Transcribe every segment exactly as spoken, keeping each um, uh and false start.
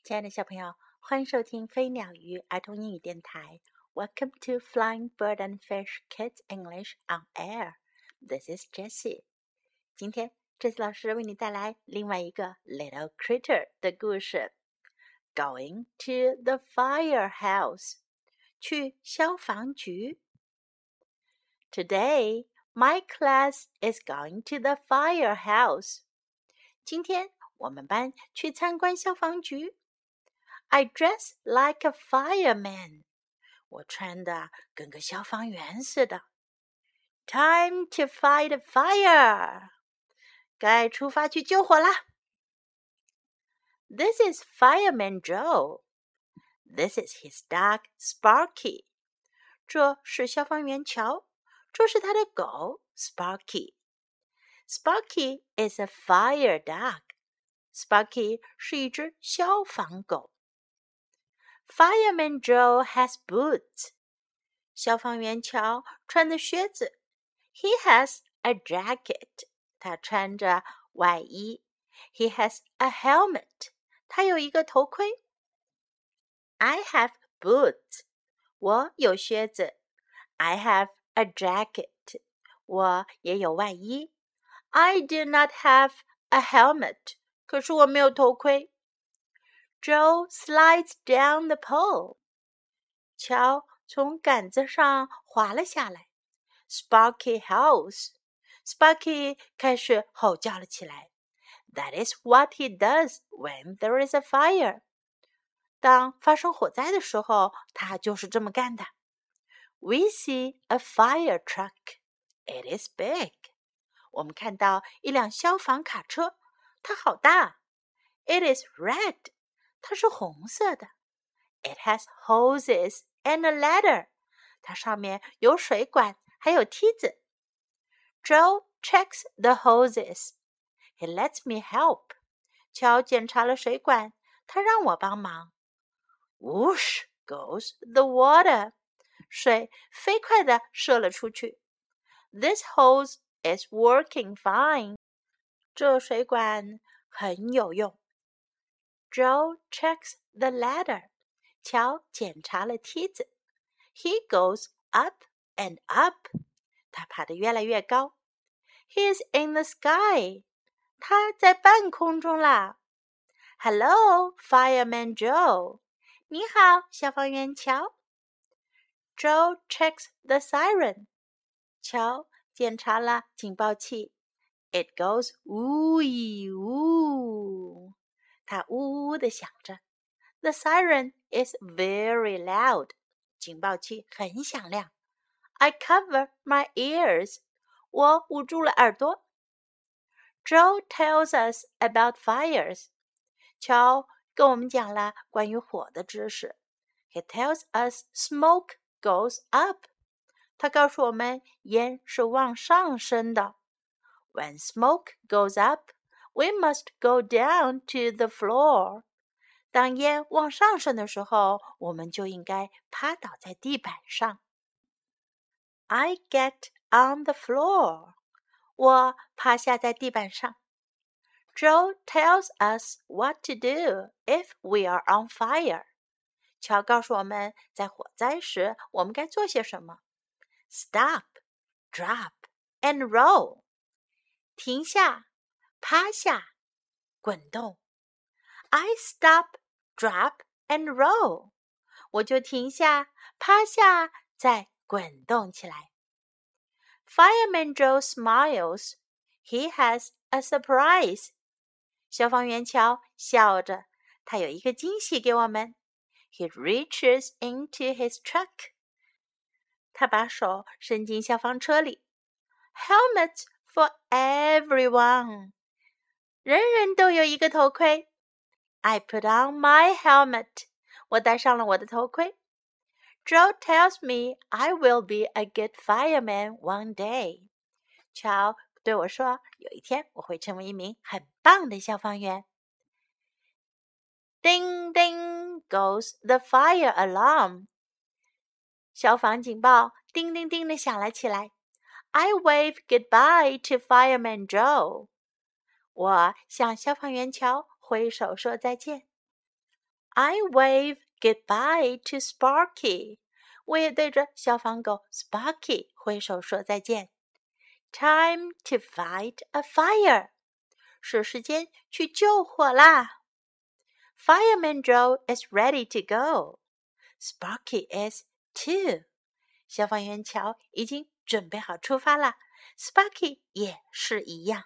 亲爱的小朋友，欢迎收听飞鸟鱼儿童英语电台。Welcome to Flying Bird and Fish Kids English on Air. This is Jessie. 今天，Jessie 老师为你带来另外一个 Little Critter 的故事。Going to the firehouse. 去消防局。Today, my class is going to the firehouse. 今天我们班去参观消防局。I dress like a fireman. 我穿的跟个消防员似的。Time to fight a fire. 该出发去救火啦。This is Fireman Joe. This is his dog, Sparky. 这是消防员乔，这是他的狗 Sparky. Sparky is a fire dog. Sparky 是一只消防狗。Fireman Joe has boots. 消防员乔穿的靴子。He has a jacket. 他穿着外衣。He has a helmet. 他有一个头盔。I have boots. 我有靴子。I have a jacket. 我也有外衣。I do not have a helmet. 可是我没有头盔。Joe slides down the pole. 乔从杆子上滑了下来。Sparky howls. Sparky 开始吼叫了起来。That is what he does when there is a fire. 当发生火灾的时候，他就是这么干的。We see a fire truck. It is big. 我们看到一辆消防卡车，它好大。It is red. 它是红色的。It has hoses and a ladder. 它上面有水管，还有梯子。Joe checks the hoses. He lets me help. 乔检查了水管，他让我帮忙。Whoosh goes the water. 水飞快地射了出去。This hose is working fine. 这水管很有用。Joe checks the ladder. 乔检查了梯子。He goes up and up. 他爬得越来越高。He is in the sky. 他在半空中啦。Hello, Fireman Joe. 你好，消防员乔。Joe checks the siren. 乔检查了警报器。It goes woo-ee woo. 它呜呜地响着。The siren is very loud. 警报器很响亮。I cover my ears. 我捂住了耳朵。Joe tells us about fires. 乔跟我们讲了关于火的知识。He tells us smoke goes up. 他告诉我们烟是往上升的。When smoke goes up, we must go down to the floor. 当烟往上升的时候，我们就应该趴倒在地板上。I get on the floor. 我趴下在地板上。Joe tells us what to do if we are on fire. 乔告诉我们在火灾时我们该做些什么。Stop, drop, and roll. 停下，趴下，滚动。I stop, drop, and roll. 我就停下，趴下，再滚动起来。Fireman Joe smiles. He has a surprise. 消防员乔笑着，他有一个惊喜给我们。He reaches into his truck. 他把手伸进消防车里。Helmets for everyone. 人人都有一个头盔。I put on my helmet. 我戴上了我的头盔。Joe tells me I will be a good fireman one day. 乔对我说，有一天我会成为一名很棒的消防员。Ding ding goes the fire alarm. 消防警报叮叮叮地响了起来。I wave goodbye to Fireman Joe. 我向消防员乔挥手说再见。 I wave goodbye to Sparky. 我也对着消防狗 Sparky 挥手说再见。Time to fight a fire. 是时间去救火啦。Fireman Joe is ready to go. Sparky is too. 消防员乔已经准备好出发了 Sparky 也是一样。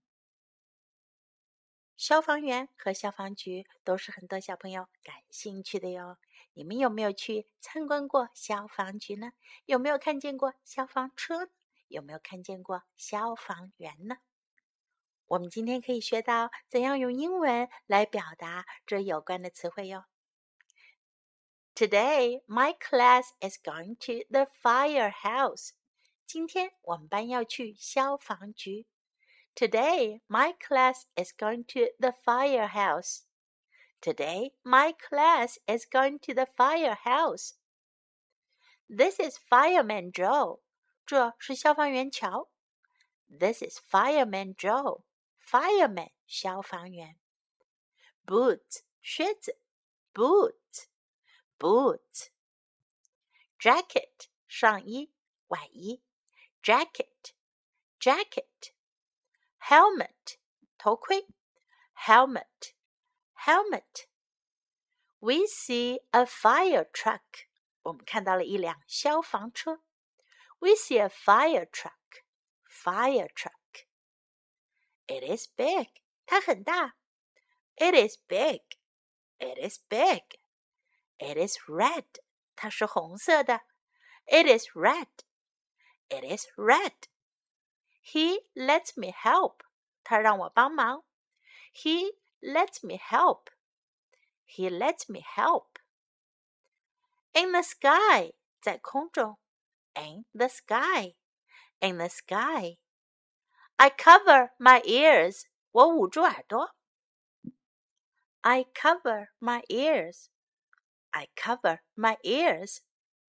消防员和消防局都是很多小朋友感兴趣的哟。你们有没有去参观过消防局呢？有没有看见过消防车呢？有没有看见过消防员呢？我们今天可以学到怎样用英文来表达这有关的词汇哟。Today, my class is going to the firehouse. 今天我们班要去消防局。Today, my class is going to the firehouse. Today, my class is going to the firehouse. This is Fireman Joe. 这是消防员乔。This is Fireman Joe. Fireman 消防员。Boot 靴子 Boot Boot. Jacket 上衣外衣 Jacket Jacket. Helmet 头盔 Helmet Helmet. We see a fire truck. 我们看到了一辆消防车。We see a fire truck. Fire truck. It is big. 它很大。It is big. It is big. It is red. 它是红色的。It is red. It is red. He lets me help. 他让我帮忙。He lets me help. He lets me help. In the sky. 在空中。In the sky. In the sky. I cover my ears. 我捂住耳朵。I cover my ears. I cover my ears.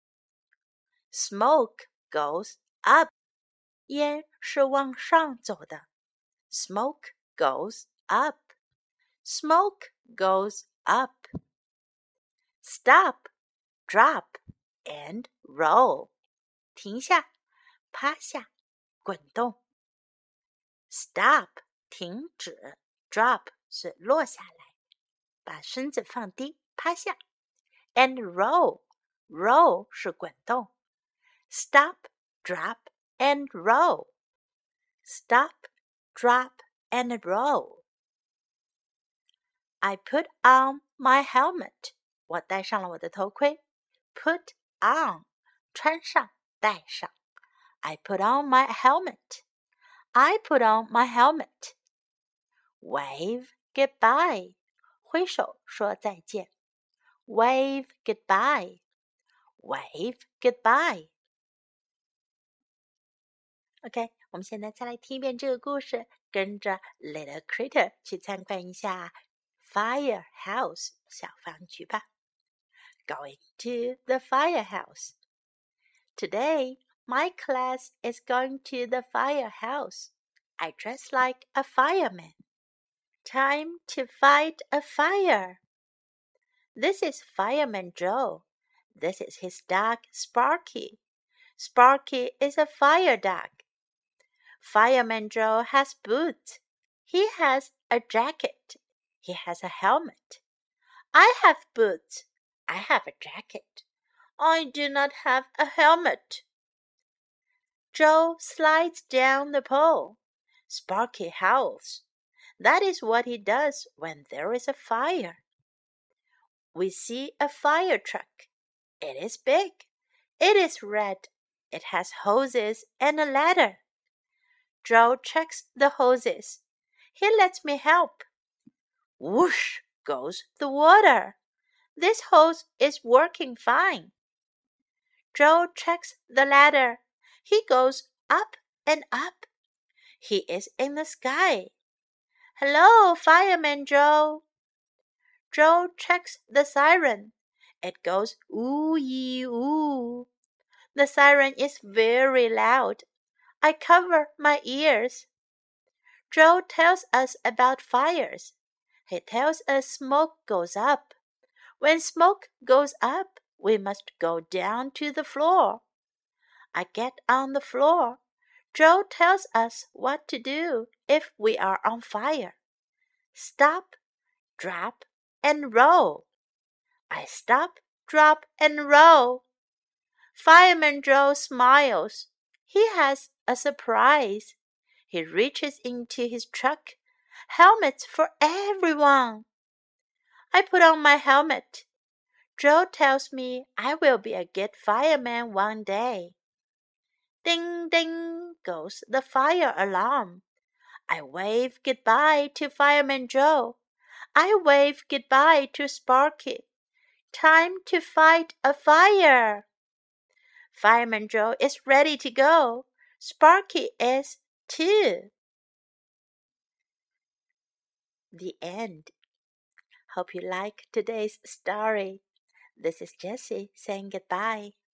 Smoke goes up. 烟是往上走的。Smoke goes up. Smoke goes up. Stop, drop, and roll. 停下，趴下，滚动。Stop 停止 Drop 是落下来，把身子放低，趴下。And roll Roll 是滚动。Stop, drop, and roll. Stop, drop, and roll. I put on my helmet. 我戴上了我的头盔。Put on 穿上，戴上。I put on my helmet. I put on my helmet. Wave goodbye. 挥手说再见。Wave goodbye. Wave goodbye. OK, 我们现在再来听一遍这个故事，跟着 Little Critter 去参观一下 Firehouse 小房局吧。Going to the firehouse. Today, my class is going to the firehouse. I dress like a fireman. Time to fight a fire. This is Fireman Joe. This is his dog, Sparky. Sparky is a fire dog. Fireman Joe has boots. He has a jacket. He has a helmet. I have boots. I have a jacket. I do not have a helmet. Joe slides down the pole. Sparky howls. That is what he does when there is a fire. We see a fire truck. It is big. It is red. It has hoses and a ladder. Joe checks the hoses. He lets me help. Whoosh goes the water. This hose is working fine. Joe checks the ladder. He goes up and up. He is in the sky. Hello, Fireman Joe. Joe checks the siren. It goes ooh-yee ooh. The siren is very loud. I cover my ears. Joe tells us about fires. He tells us smoke goes up. When smoke goes up, we must go down to the floor. I get on the floor. Joe tells us what to do if we are on fire. Stop, drop, and roll. I stop, drop, and roll. Fireman Joe smiles. He has a surprise. He reaches into his truck. Helmets for everyone. I put on my helmet. Joe tells me I will be a good fireman one day. Ding, ding goes the fire alarm. I wave goodbye to Fireman Joe. I wave goodbye to Sparky. Time to fight a fire. Fireman Joe is ready to go. Sparky is too. The end. Hope you like today's story. This is Jessie saying goodbye.